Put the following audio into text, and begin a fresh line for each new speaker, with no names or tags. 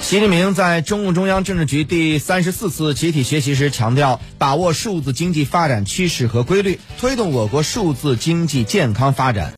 习近平在中共中央政治局第34次集体学习时强调，把握数字经济发展趋势和规律，推动我国数字经济健康发展。